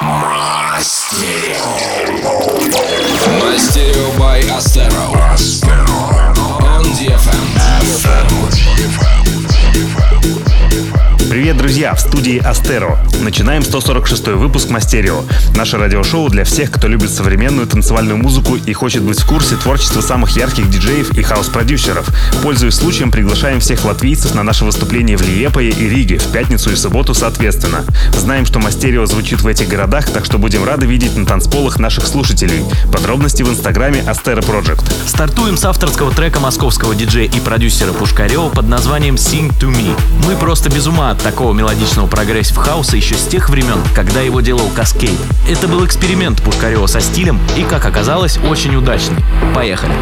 Мастерио by Astero. On DFM. Привет, друзья! В студии Астеро. Начинаем 146-й выпуск Мастерио. Наше радиошоу для всех, кто любит современную танцевальную музыку и хочет быть в курсе творчества самых ярких диджеев и хаус-продюсеров. Пользуясь случаем, приглашаем всех латвийцев на наше выступление в Лиепае и Риге в пятницу и субботу соответственно. Знаем, что Мастерио звучит в этих городах, так что будем рады видеть на танцполах наших слушателей. Подробности в инстаграме Astero Project. Стартуем с авторского трека московского диджея и продюсера Пушкарева под названием Sing to Me. Мы просто без ума от такого мелодичного прогрессив-хауса еще с тех времен, когда его делал Каскейд. Это был эксперимент Пушкарева со стилем и, как оказалось, очень удачный. Поехали!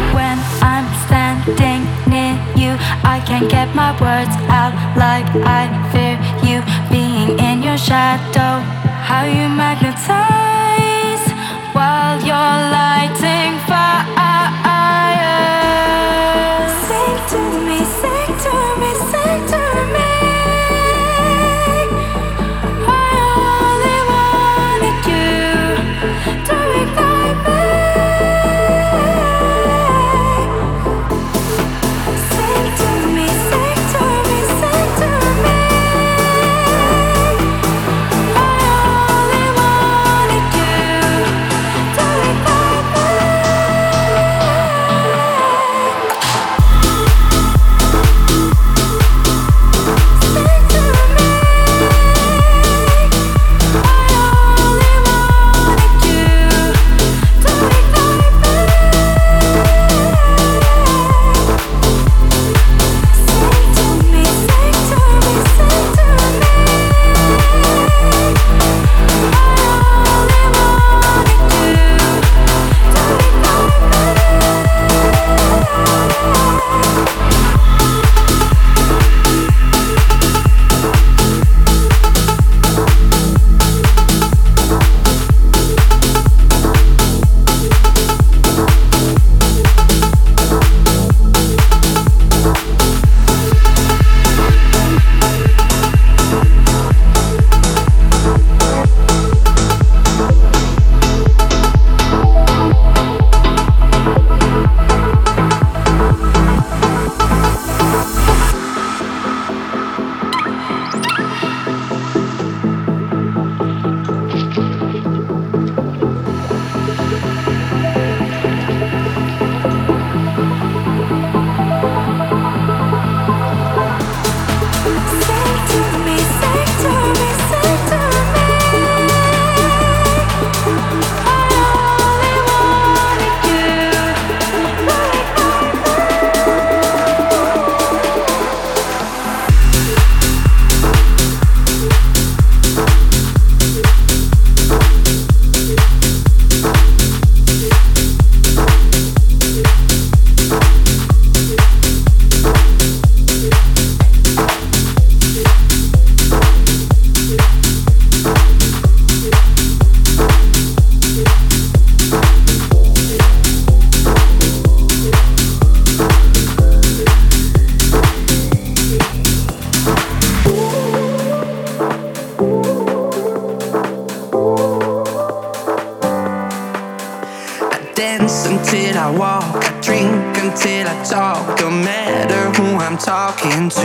Until I walk, I drink until I talk. Don't matter who I'm talking to.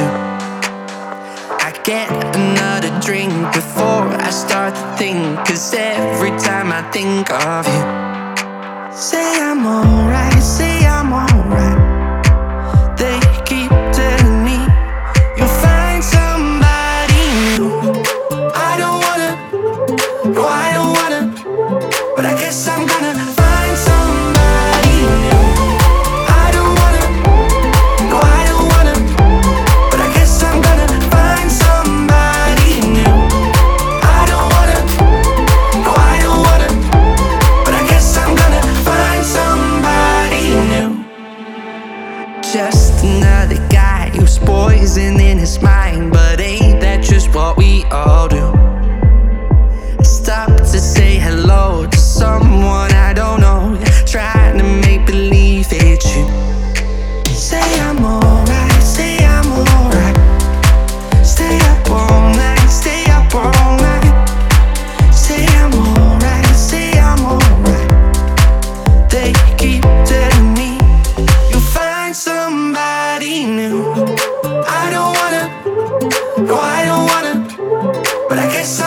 I get another drink before I start to think. Cause every time I think of you, say I'm alright, say I'm alright. They keep telling me you'll find somebody new. I don't wanna, no I don't wanna, but I guess I'm gonna find somebody new. I don't wanna, no I don't wanna, but I guess I'm gonna find somebody new. I don't wanna, no I don't wanna, but I guess I'm gonna find somebody new. Just another guy who's poison in his mind, but ain't that just what we all do? I stopped to say hello to someone I don't know.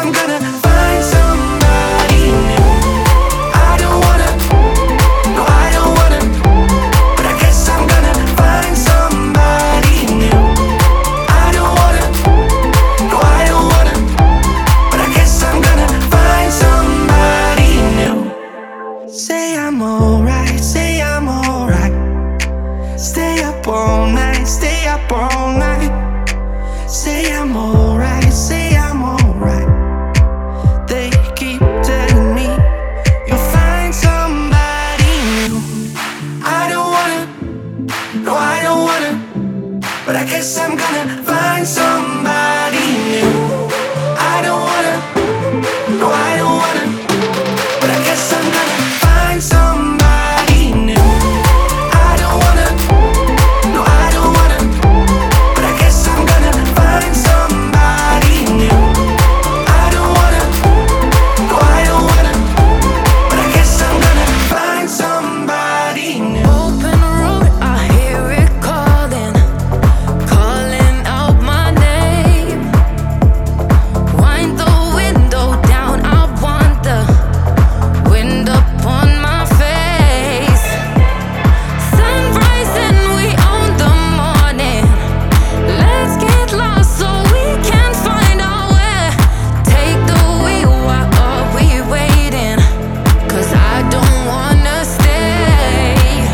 I'm gonna find somebody new. I don't wanna, no, I don't wanna, but I guess I'm gonna find somebody new. I don't wanna, no, I don't wanna, but I guess I'm gonna find somebody new. Say I'm alright, say I'm alright. Stay up all night, stay up all night. Say I'm alright, say I'm alright. They keep telling me you'll find somebody new. I don't wanna, no, I don't wanna, but I guess I'm gonna find somebody new. I don't wanna, no, I don't wanna, but I guess I'm gonna find somebody new. I don't wanna, no, I don't wanna, but I guess I'm gonna find somebody new. I don't wanna, no, I don't wanna, but I guess I'm gonna find somebody new. Open road, I hear it calling, calling out my name. Wind the window down, I want the wind upon my face. Sunrise and we own the morning. Let's get lost so we can find our way. Take the wheel, why are we waiting? 'Cause I don't wanna stay.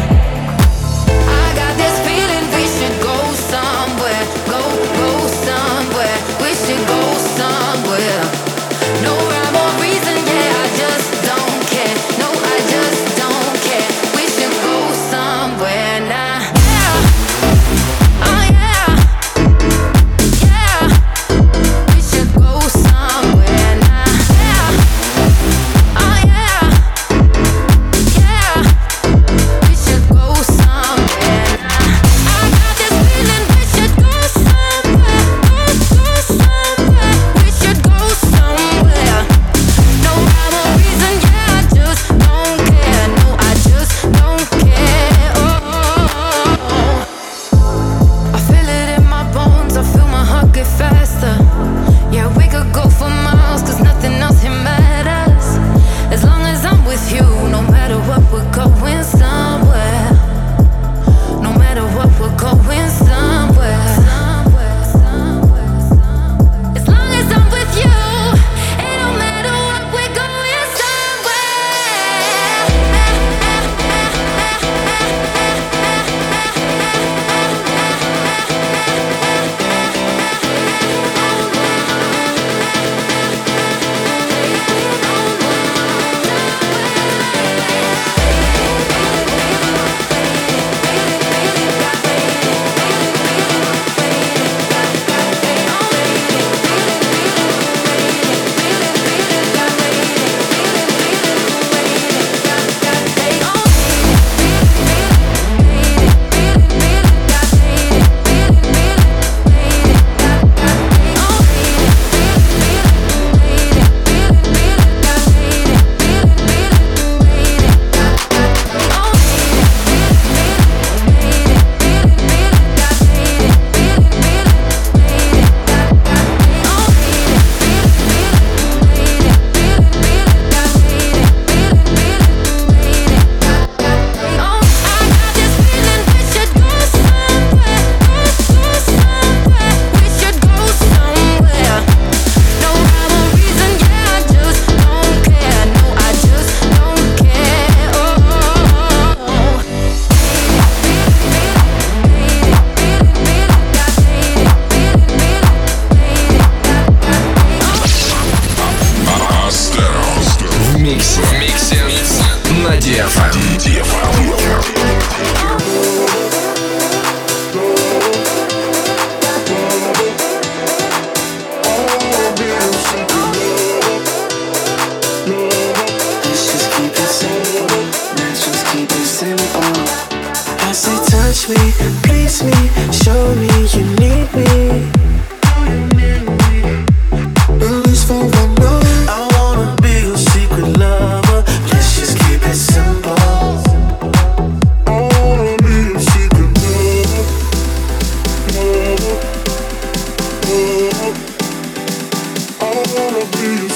I got this feeling we should go somewhere. Go somewhere. We should go somewhere. No rhyme or reason, yeah, I just don't care. No, I just don't care. We should go somewhere now. Yeah, oh yeah, yeah. We should go somewhere now. Yeah, oh yeah, yeah. We should go somewhere now. I got this feeling we should go somewhere. Go somewhere. We should go somewhere. No rhyme or reason, yeah, I just don't care. No, I just don't care. I feel it in my bones, I feel my heart get faster. Yeah, we could go for miles, 'cause nothing else here matters. As long as I'm with you, no matter what, we're going somewhere. No matter what, we're going somewhere. As long as I'm with you, it don't matter what, we're going somewhere. wanna be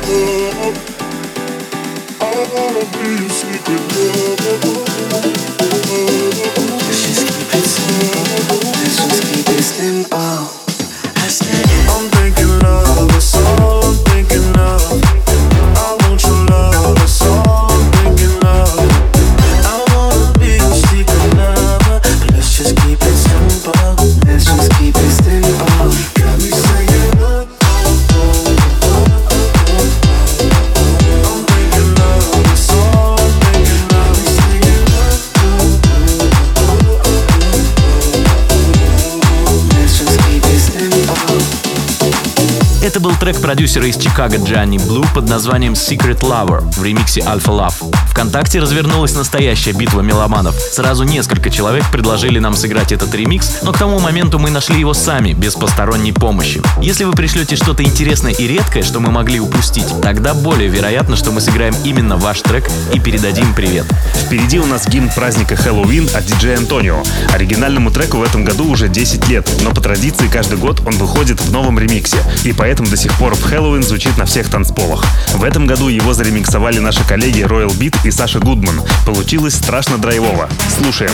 Это был трек продюсера из Чикаго Джонни Блу под названием Secret Lover в ремиксе Alpha Love. ВКонтакте развернулась настоящая битва меломанов. Сразу несколько человек предложили нам сыграть этот ремикс, но к тому моменту мы нашли его сами, без посторонней помощи. Если вы пришлете что-то интересное и редкое, что мы могли упустить, тогда более вероятно, что мы сыграем именно ваш трек и передадим привет. Впереди у нас гимн праздника Хэллоуин от диджея Антонио. Оригинальному треку в этом году уже 10 лет, но по традиции каждый год он выходит в новом ремиксе, и поэтому до сих пор в Хэллоуин звучит на всех танцполах. В этом году его заремиксовали наши коллеги Royal Beat и Саша Гудман. Получилось страшно драйвово. Слушаем.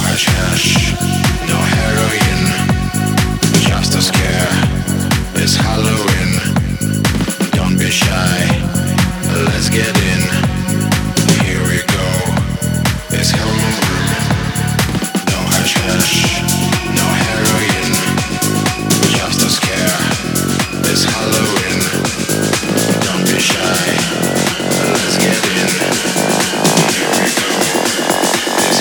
It's Halloween, don't be shy, let's get in, here we go, it's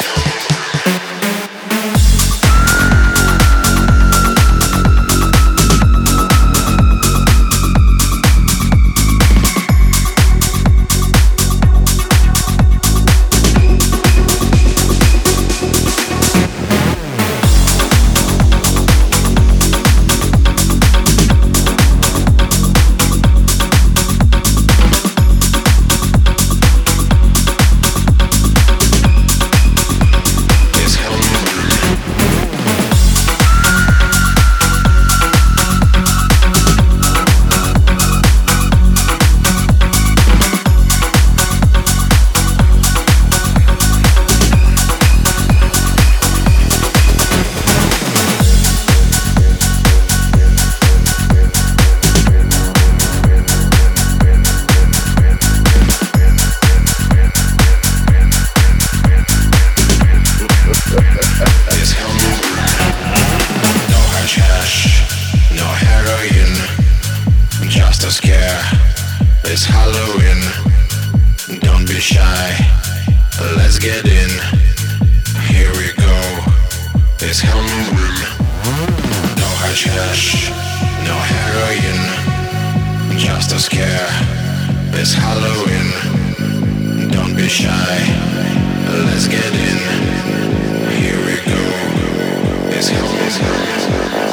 It's Halloween, don't be shy, let's get in, here we go, it's Halloween. No hashish, no heroin, just a scare. It's Halloween, don't be shy, let's get in, here we go, it's Halloween.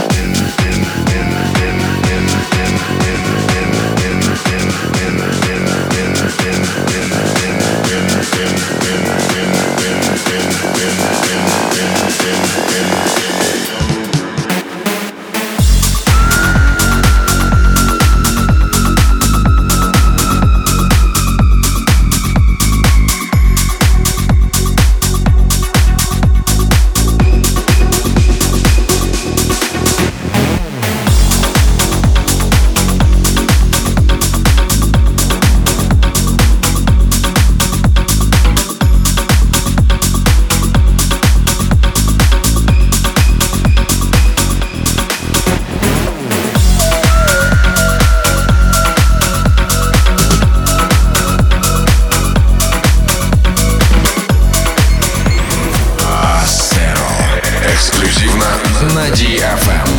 На DFM.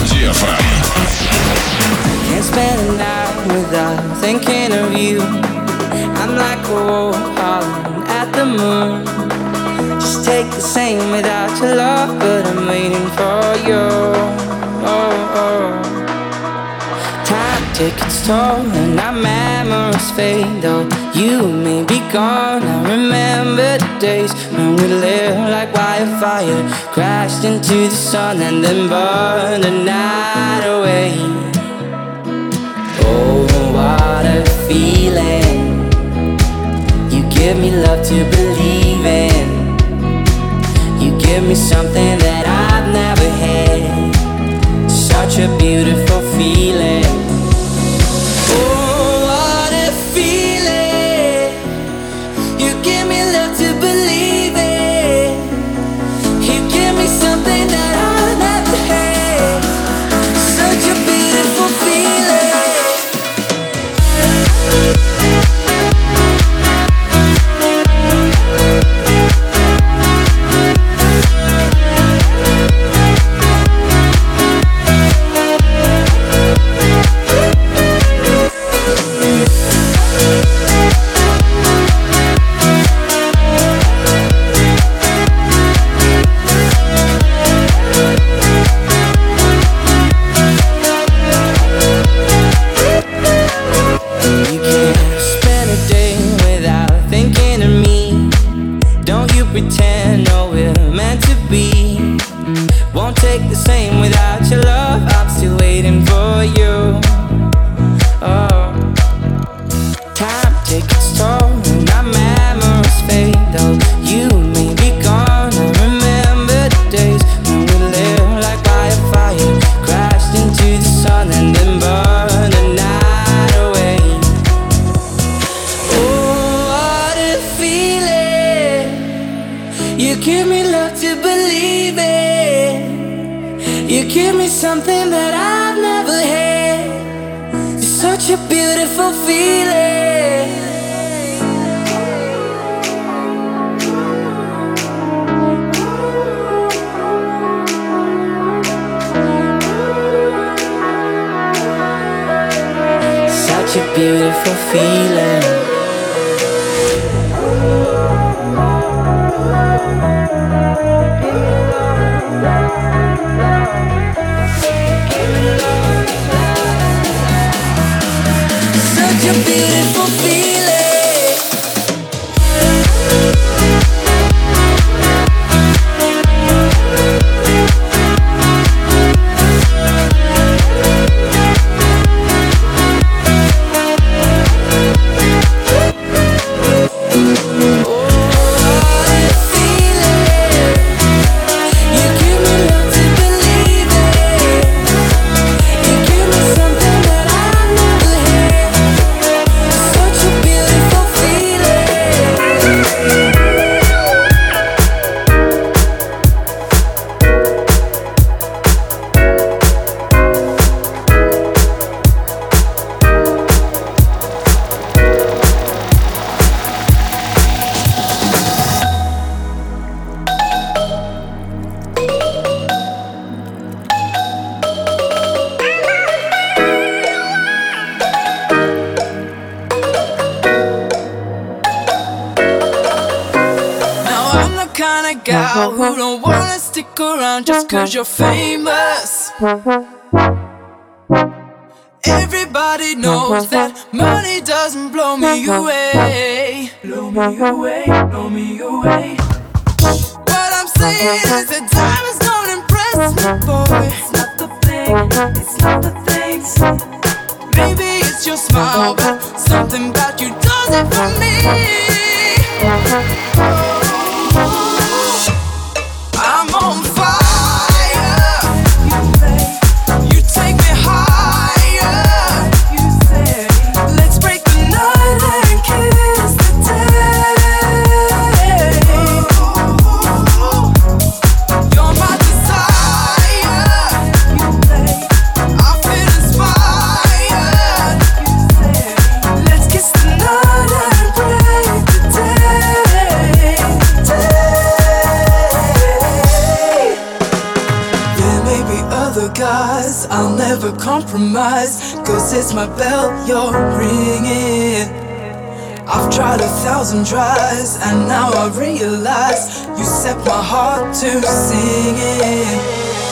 Can't spend a night without thinking of you. I'm like a wolf howling at the moon. Just take the same without your love, but I'm waiting for you. Time takes its toll and our memories fade. Though you may be gone, I remember the days when we lived like wildfire, crashed into the sun and then burned the night away. Oh, what a feeling. give me love to believe in. You give me something that I've never had. It's such a beautiful feeling. Such a beautiful feeling. Such a beautiful feeling. Gal who don't wanna stick around just cause you're famous. Everybody knows that money doesn't blow me away. Blow me away, blow me away. What I'm saying is that diamonds don't impress me, boy. It's not the thing, it's not the things. Maybe it's your smile, but something about you does it for me. I'm on fire. You take me higher. Let's break the night and kiss the day. You're my desire. I feel inspired. Let's kiss the night and break the day. There may be other guys, I'll never compromise, cause it's my bell you're ringing. I've tried 1,000 tries and now I realize you set my heart to singing.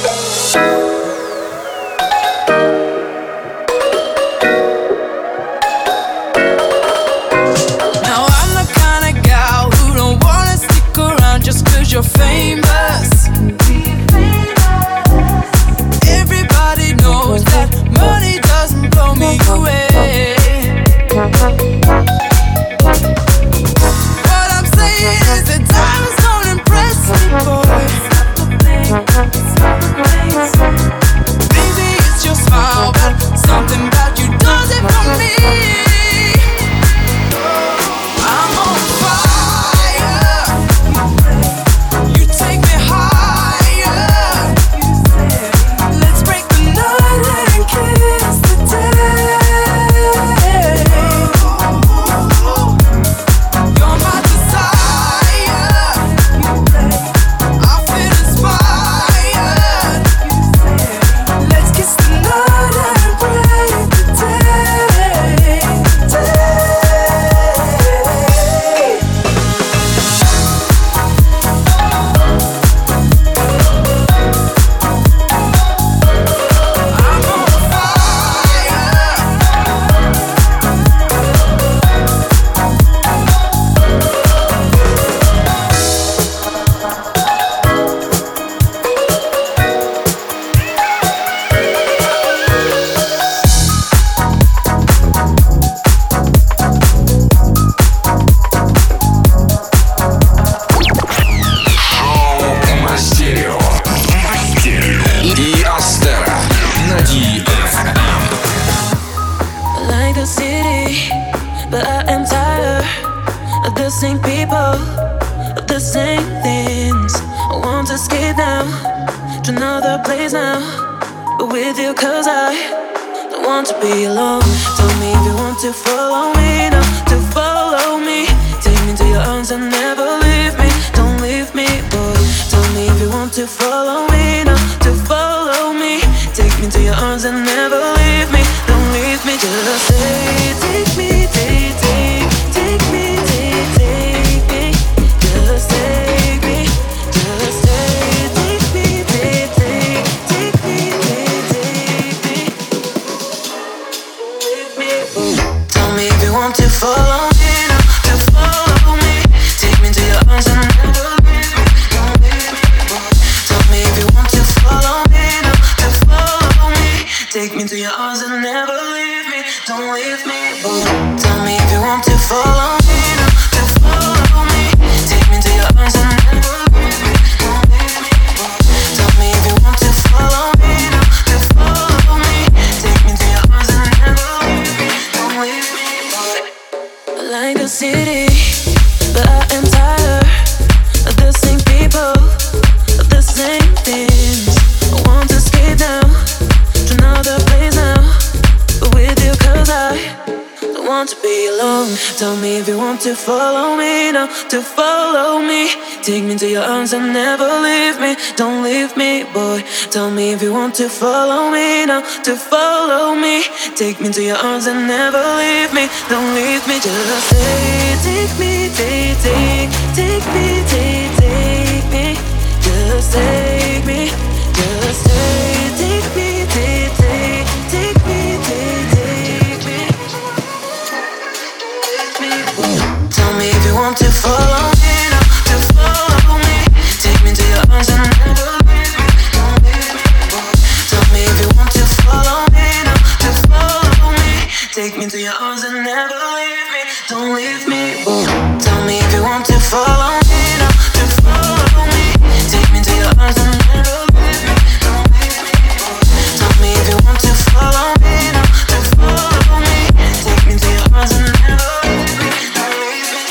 Now I'm the kind of gal who don't wanna stick around just cause you're famous. Everybody knows that money doesn't blow me away. What I'm saying is that diamonds don't impress me, boy. Maybe it's your smile, but something about you does it for me. I'm on fire. You take me higher. Let's break the night and kiss the day. You're my desire. I feel inspired. Let's kiss the night and break the day. I'm on fire. Мастерио. И Астера на DFM. Like the city, but I am tired of the same people, of the same things. want to escape now to another place now, but with you 'cause I don't want to be alone. Tell me if you want to follow me now, to follow me. Take me to your arms and never leave me. Don't leave me, boy. Tell me if you want to follow me now, to follow me. Take me to your arms and never leave me. Don't leave me, just say, take me, take me, take me. Just take me, just take me, take me. Leave me, tell me if you want to follow me now, to follow me. Take me to your arms and never leave me. Don't leave me, tell me if you want to follow me now, to follow me. Take me to your arms and never leave me. Don't leave me, tell me if you want to follow me now, to follow me. Take me to your arms and never leave me. Don't leave me, tell me if you want to follow me now, to follow me. Take me to your arms and never leave me. Don't leave me, like a city, but I am tired of the same people, of the same things. I want to escape now to another place now, but with you 'cause I don't want to be alone. Tell me if you want to follow me now, to follow me. Take me to your arms and never leave me. Don't leave me, boy. Tell me if you want to follow me now, to follow me. Take me to your arms and never leave me. Don't leave me, just say, take me, take me, take me. Just take me, just say, take me, take me, take me. Tell me if you want to follow me now, to follow me. Take me to your arms and never leave me. Don't leave me, tell me if you want to follow me now, to follow me. Take me to your arms and never leave me. Don't leave me, tell me if you want to follow me now, to follow me. Take me to your arms and never leave me. Don't leave me, tell me if you want to follow me now, to follow me. Take me to your arms and never leave me. Don't leave me.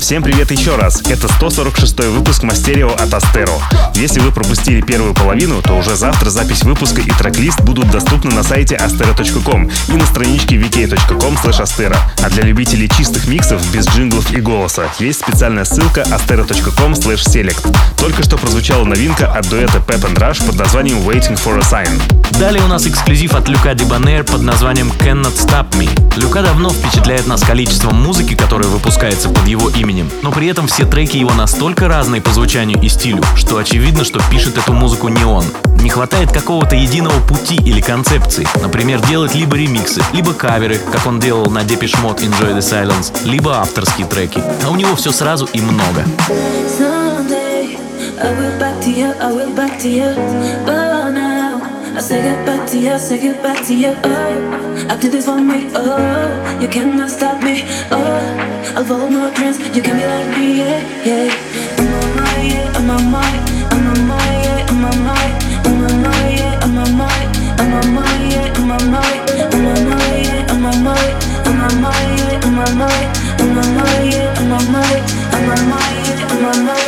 Всем привет еще раз. Это 146-й выпуск Мастерио от Астеро. Если вы пропустили первую половину, то уже завтра запись выпуска и трек-лист будут доступны на сайте astero.com и на страничке vk.com/astero. А для любителей чистых миксов без джинглов и голоса есть специальная ссылка astero.com/select. Только что прозвучала новинка от дуэта Pep and Rush под названием Waiting for a Sign. Далее у нас эксклюзив от Люка Дебонер под названием Cannot Stop Me. Люка давно впечатляет нас количеством музыки, которая выпускается под его именем, но при этом все треки его настолько разные по звучанию и стилю, что очевидно, что пишет эту музыку не он. Не хватает какого-то единого пути или концепции. Например, делать либо ремиксы, либо каверы, как он делал на Depeche Mode Enjoy the Silence, либо авторские треки. А у него все сразу и много. I say goodbye to you, say goodbye to you. Oh, I do this for me. Oh, you cannot stop me. Oh, I'll follow my dreams. You can be like me, yeah, yeah. I'm on my, yeah, I'm on my, I'm on my, yeah, I'm on my, I'm on my, yeah, I'm on my, I'm on my, yeah, I'm on my, I'm on my, yeah, I'm on my, I'm on my, yeah, I'm on my, I'm on my, yeah, I'm on my, I'm on my, yeah, I'm on my.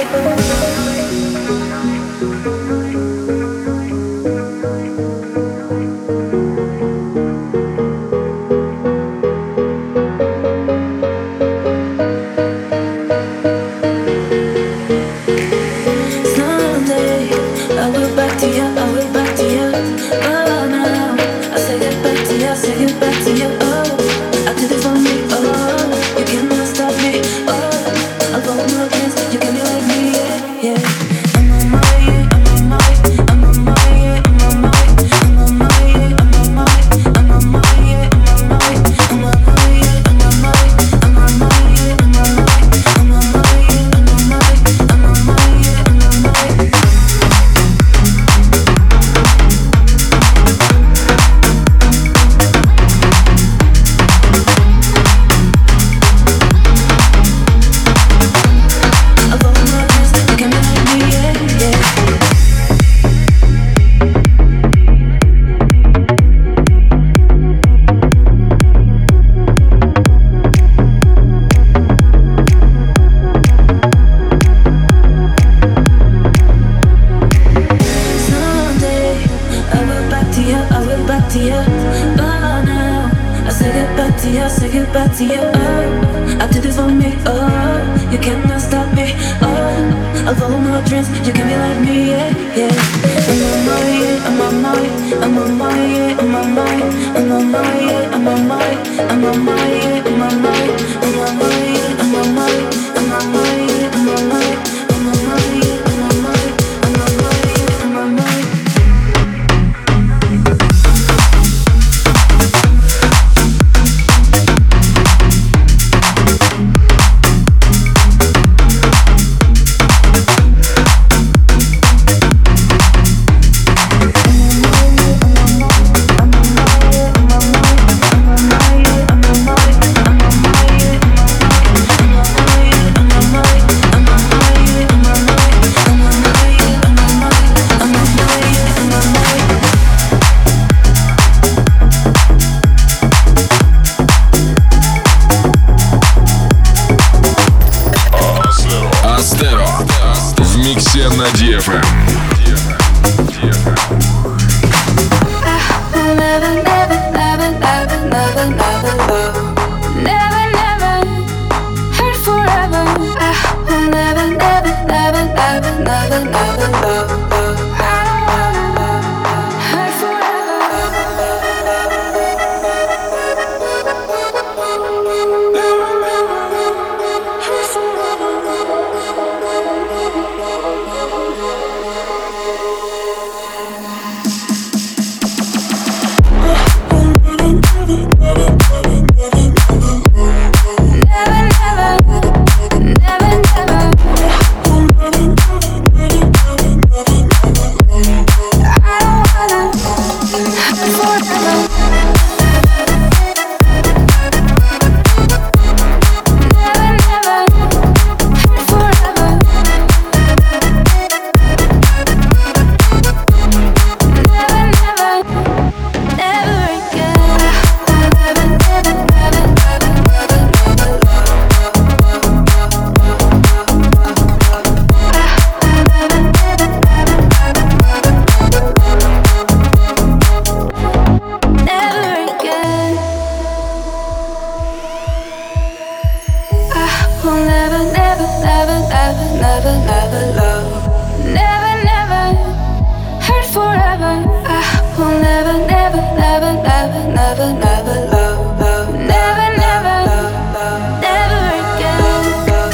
never, never love. Never, never hurt forever. I will never, never, never, never, never, never love, love. Never, never, never again.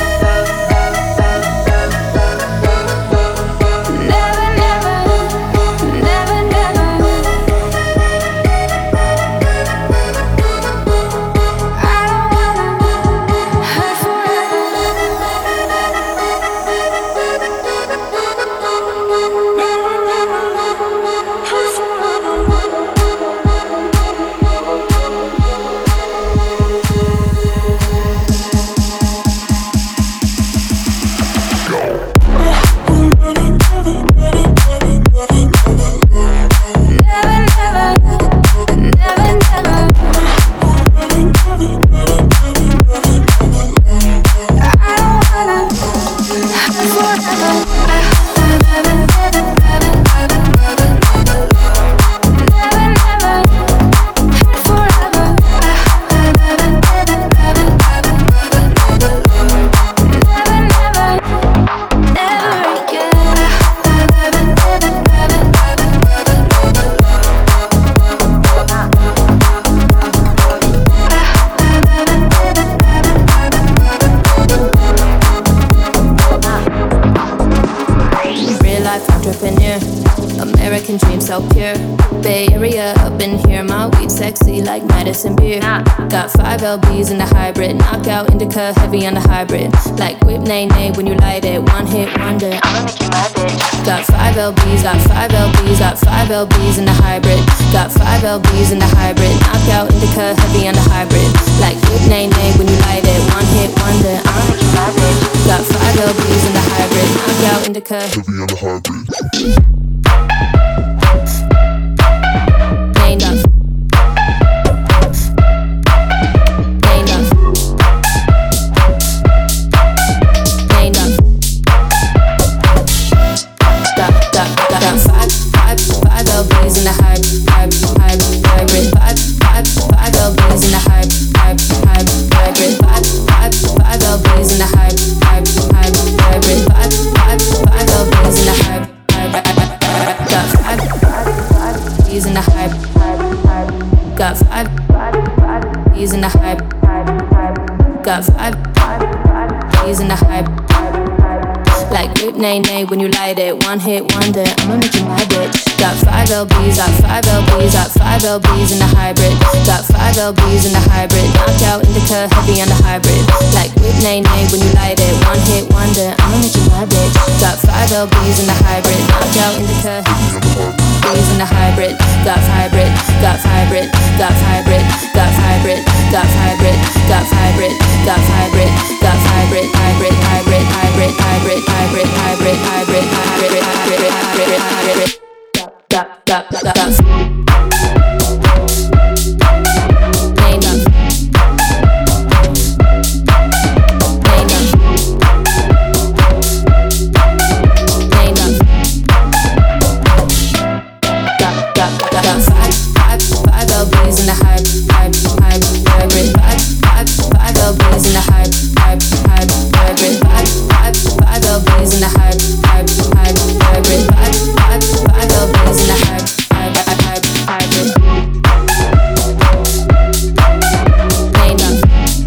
Never, never, never, never. I don't wanna hurt forever. Entrepreneur, American dream so pure. Bay Area up in here, my weed sexy like Madison beer. Got 5 LBs in the hybrid, knockout indica heavy on the hybrid. Like whip nay nay when you light it, one hit wonder. I'ma make you my bitch. Got 5 LBs, got 5 LBs, got 5 LBs in the hybrid. Got 5 LBs in the hybrid, knockout indica heavy on the hybrid. Like whip nay nay when you light it, one hit wonder. I'ma make you my bitch. Got 5 LBs in the hybrid, knockout indica heavy on the hybrid. Ain't enough. Ain't enough. Ain't enough. Got 5 LBs in the hybrid. 5 LBs in the hybrid. 5 LBs in the hybrid. 5 LBs in the hybrid. Got 5 B's in the hybrid. Got 5 B's in the hybrid. Got 5 B's in the hybrid. Like whip nay nay when you light it, one hit wonder. I'ma make you my bitch. Got 5 LBs, got 5 LBs, got 5 LBs in the hybrid. Got 5 LBs in the hybrid. Knockout indica heavy on the hybrid. Like whip nay nay when you light it, one hit wonder. I'ma make you my bitch. Got 5 LBs in the hybrid. Knockout indica B's in the hybrid. Got hybrid, got hybrid, got hybrid, got hybrid, got hybrid, got hybrid, got hybrid, got hybrid, hybrid, hybrid, hybrid, hybrid, hybrid, hybrid, hybrid, hybrid, hybrid, hybrid, ain't enough. Ain't enough. Ain't enough. Got 5 LBs in the hybrid. 5 LBs in the hybrid. 5 LBs in the hybrid. 5 LBs in the hybrid. Ain't enough.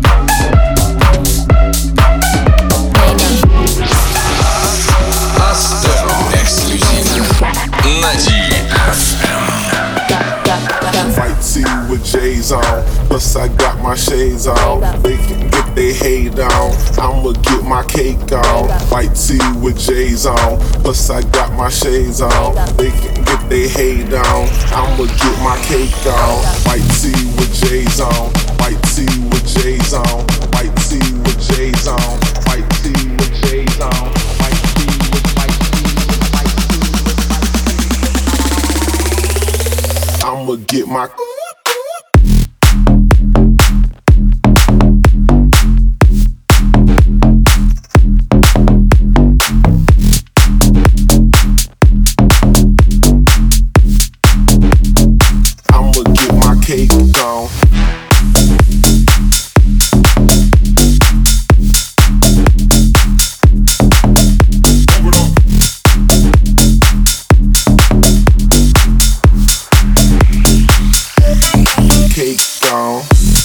Ain't enough. Астеро эксклюзивно на DFM. White tee with J's on, plus I got my shades on. They can get their hate on, I'ma get my cake on. White tee with J's on, plus I got my shades on. They can get their hate on, I'ma get my cake on. White tee with J's on, white tee with J's on, white tee with J's on, white tee with J's on, white tee with white tee with white tee with white tee. I'ma get my cake on. cake gone.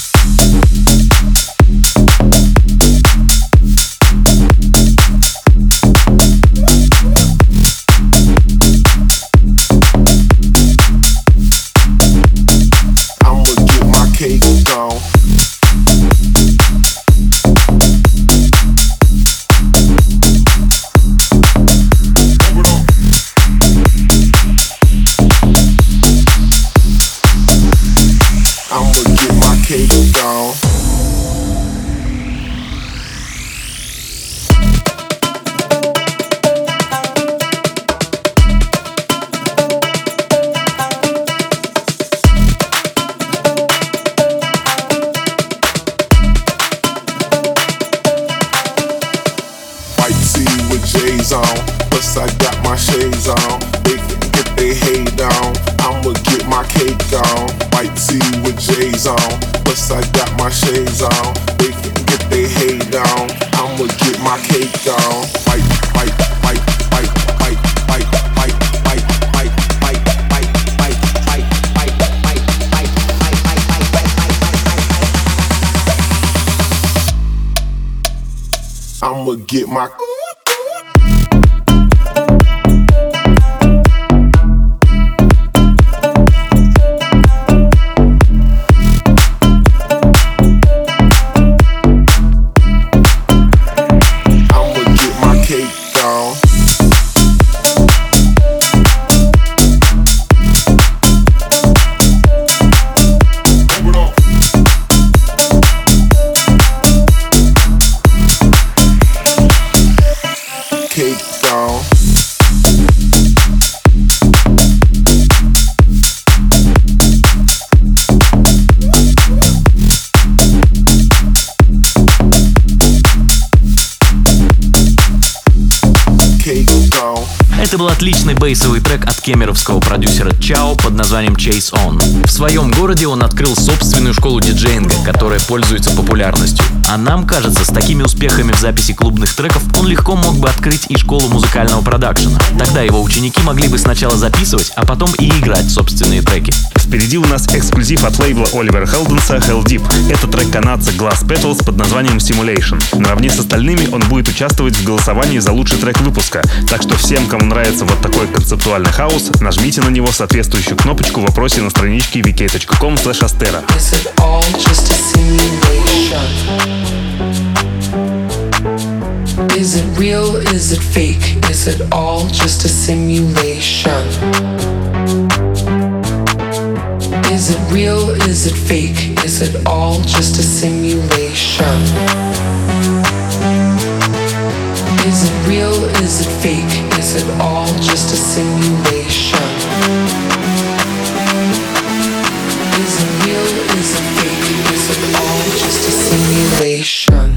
J's on, plus I got my shades on. They can get their hate on, I'ma get my cake on. White tee with J's on, plus I got my shades on. They can get their hate on, I'ma get my cake on. White, white, white, white, white, white, white, white, white, white, white, white, white, white, white, white, white, I'ma get my Это был отличный бейсовый трек от кемеровского продюсера Чао под названием Chase On. В своем городе он открыл собственную школу диджеинга, которая пользуется популярностью. А нам кажется, с такими успехами в записи клубных треков он легко мог бы открыть и школу музыкального продакшена. Тогда его ученики могли бы сначала записывать, а потом и играть собственные треки. Впереди у нас эксклюзив от лейбла Оливера Хелденса Hell Deep. Это трек канадца Glass Petals под названием Simulation. Наравне с остальными он будет участвовать в голосовании за лучший трек выпуска. Так что всем, кому нравится вот такой концептуальный хаус, нажмите на него соответствующую кнопочку в вопросе на страничке vk.com/astera. Is it real? Is it fake? Is it all just a simulation? Is it real? Is it fake? Is it all just a simulation? Is it real? Is it fake? Is it all just a simulation? Is it real? Is it fake? Is it all just a simulation?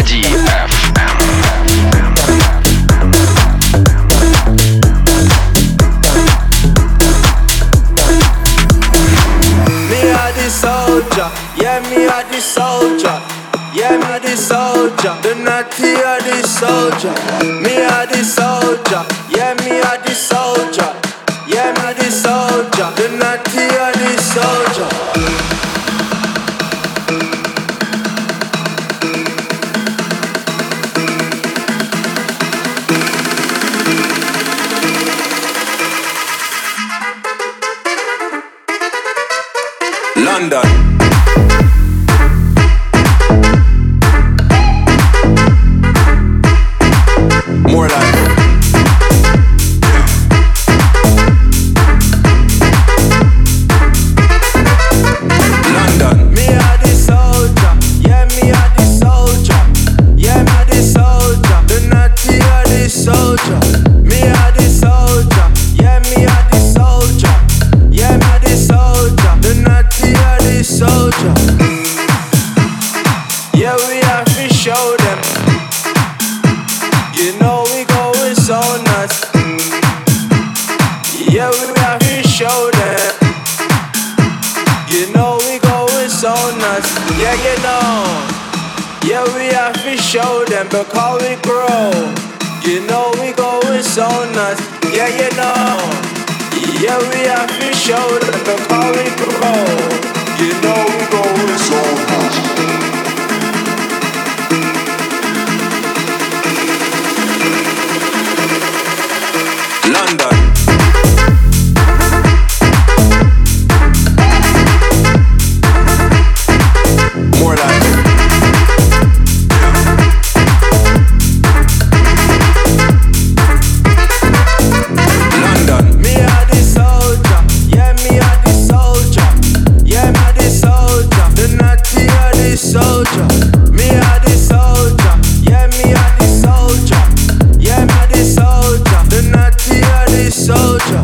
DFM. Me are the soldier, yeah, me are the soldier. Yeah, me are the soldier, the naughty are the soldier. Me are the soldier, yeah, me are the soldier. Yeah, me are the soldier, the naughty are the soldier. London. More life. London. Me are the soldier, yeah, me are the soldier. Yeah, me are the soldier, the naughty are the soldier. Me are the soldier, yeah, me are the soldier. Yeah, me are the soldier, the naughty are the soldier. Yeah, we have to show them. You know we going so nuts. Yeah, we have to show them. You know we going so nuts. Yeah, you know. Yeah, we have to show them because we grow. You know we going so nuts. Yeah, you know. Yeah, we have to show them because we grow. You know we going so nuts. London. More life. London. Me are the soldier, yeah, me are the soldier. Yeah, me are the soldier, the naughty are the soldier. Me are the soldier, yeah, me are the soldier. Yeah, me are the soldier, the naughty are the soldier.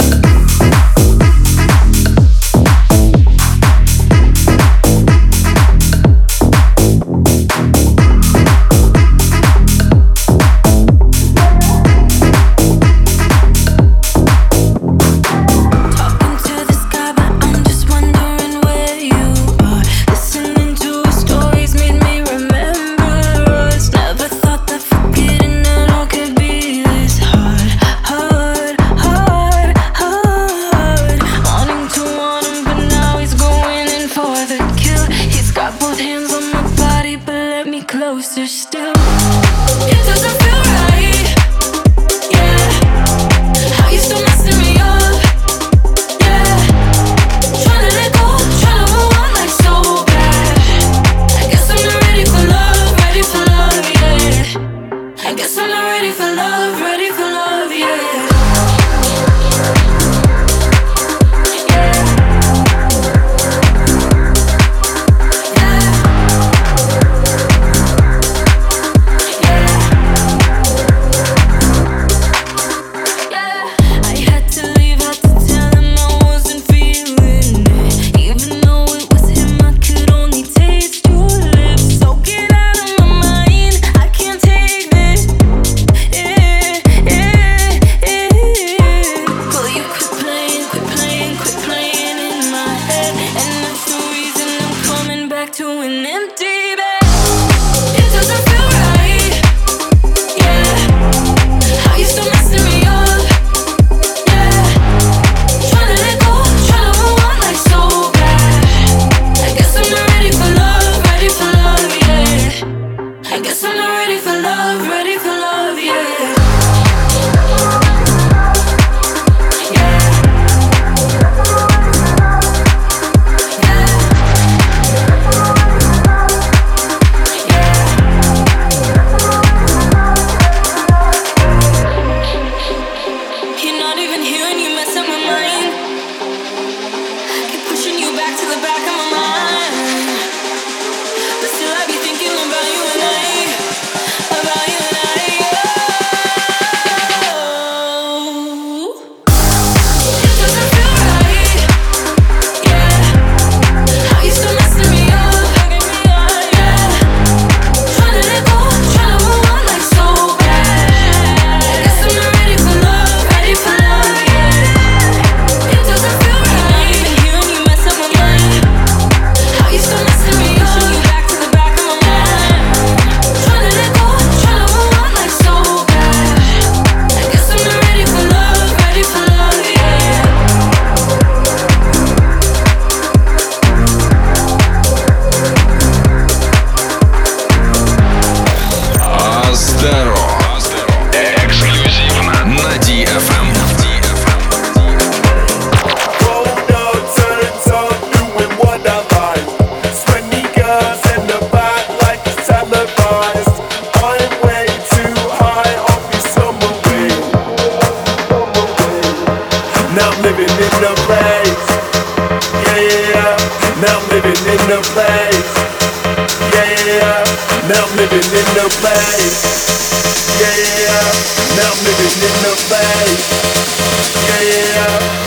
Talking to the sky, but I'm just wondering where you are. Listening to stories made me remember us. Never thought that forgetting it all could be this hard, hard, hard, hard. Wanting to want him, but now he's going in for the kill. He's got both hands on my body, but let me closer still. It doesn't feel right, yeah. How you still messing me up? Tryna let go, tryna move on like so bad. I guess I'm not ready for love, yeah. I guess I'm not ready for love, yeah. I had to leave, had to tell him I wasn't feeling it. Even though it was him, I could only taste your lips. So get out of my mind, I can't take this. Will you quit playing in my head? And that's the reason I'm coming back to an empty bed. It doesn't feel right, yeah. How you still messing me up? Tryna let go, tryna move on like so bad. I guess I'm not ready for love, yeah. I guess I'm not ready for love, yeah. You're not even here and you mess up my mind. Keep pushing you back to the back of my mind. But still I be thinking about you and I. About you and I. in the place. Yeah, now I'm living in the place. Yeah, now I'm living in the place. Yeah.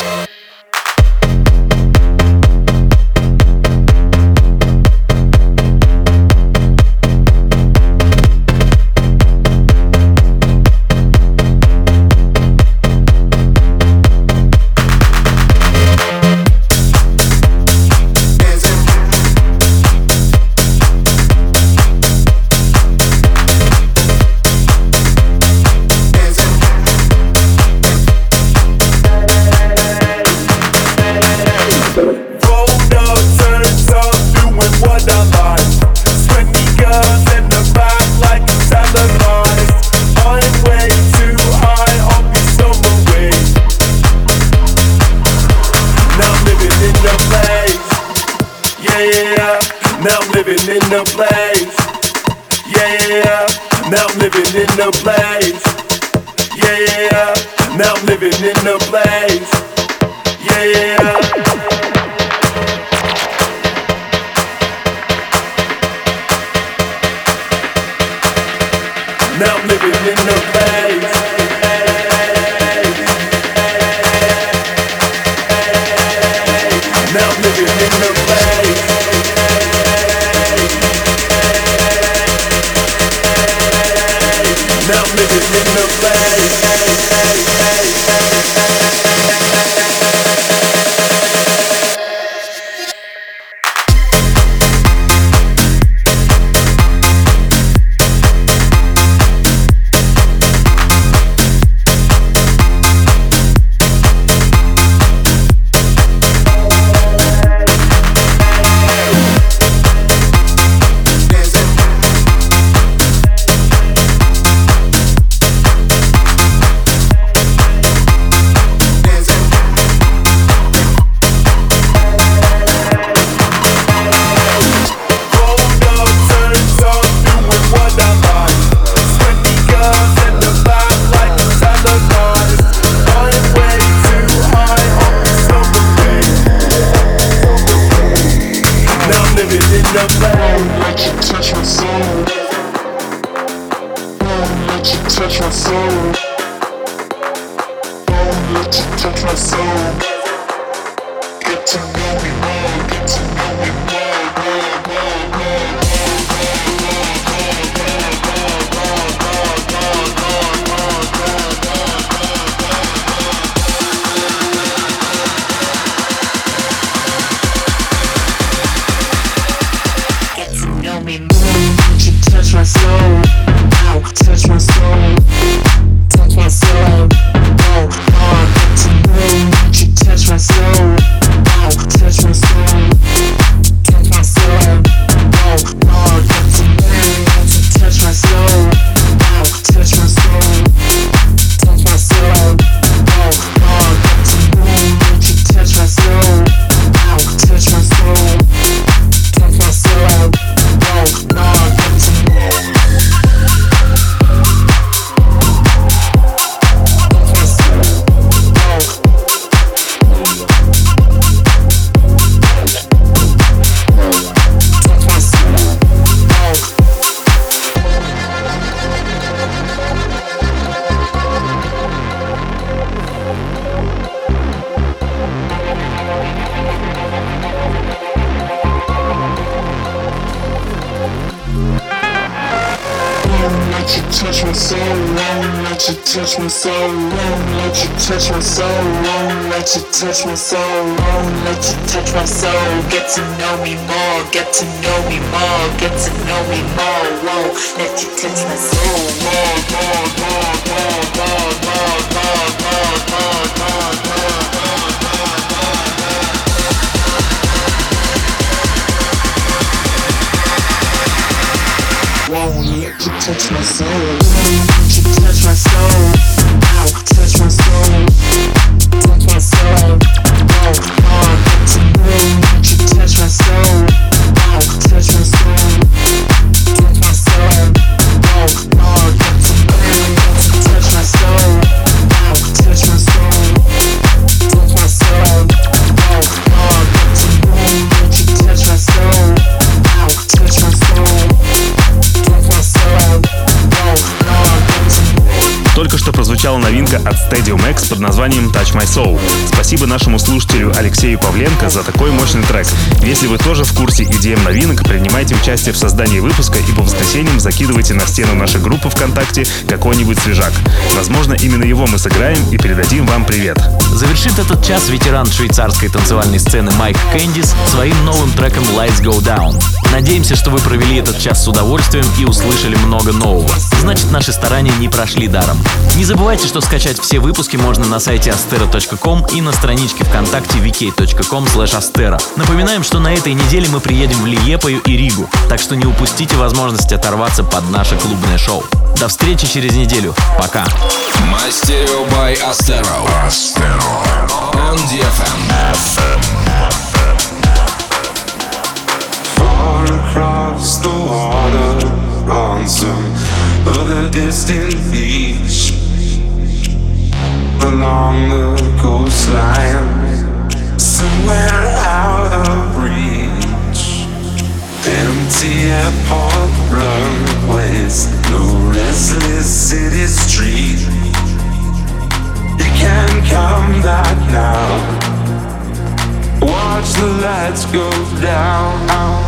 touch my soul, won't let you touch my soul, won't let you touch my soul, won't let you touch my soul. Get to know me more, get to know me more, get to know me more, won't let you touch my soul, more, more, more, more, more, more, more, more, more, more, more. Won't let you touch my soul, won't you touch my soul, ow, touch my soul, touch my soul, oh, oh, get to know, won't you touch my soul, ow, touch my soul, touch my soul, oh, oh, get to know, won't you touch my soul, ow, touch my soul, touch my soul, oh, oh, get to know, won't you touch my Только что прозвучала новинка от Stadium X под названием Touch My Soul. Спасибо нашему слушателю Алексею Павленко за такой мощный трек. Если вы тоже в курсе EDM новинок, принимайте участие в создании выпуска и по воскресеньям закидывайте на стену нашей группы ВКонтакте какой-нибудь свежак. Возможно, именно его мы сыграем и передадим вам привет. Завершит этот час ветеран швейцарской танцевальной сцены Майк Кэндис своим новым треком Lights Go Down. Надеемся, что вы провели этот час с удовольствием и услышали много нового. Значит, наши старания не прошли даром. Не забывайте, что скачать все выпуски можно на сайте astero.com и на страничке ВКонтакте vk.com/astero. Напоминаем, что на этой неделе мы приедем в Лиепаю и Ригу, так что не упустите возможность оторваться под наше клубное шоу. До встречи через неделю. Пока. Мастерио by Astero. On DFM. Far across the water on some other distant beach, along the coastline, somewhere out of reach. Empty airport runways, no restless city street. You can't come back now. Watch the lights go down.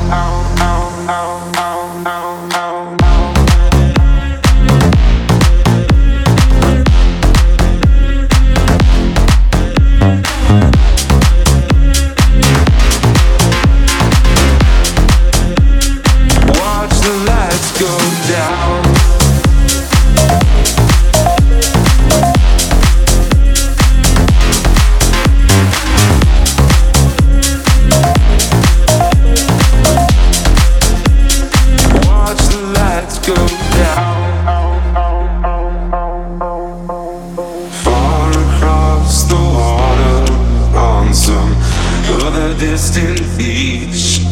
Watch the lights go down. Distant beach,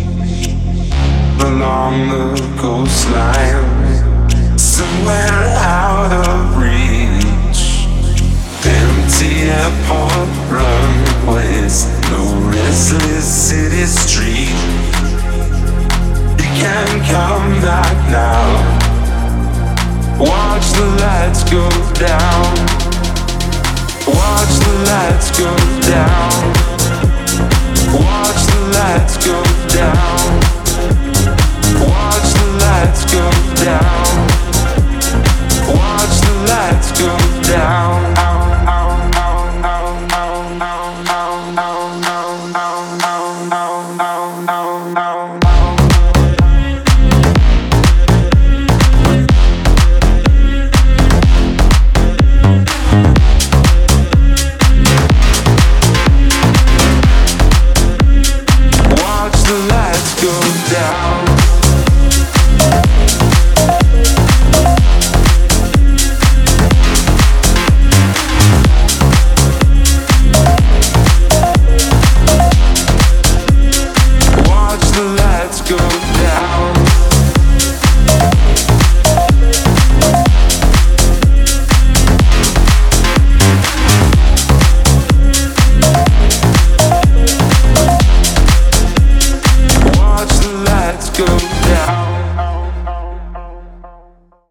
along the coastline, somewhere out of reach. Empty airport runways, no restless city street. You can't come back now. Watch the lights go down. Watch the lights go down.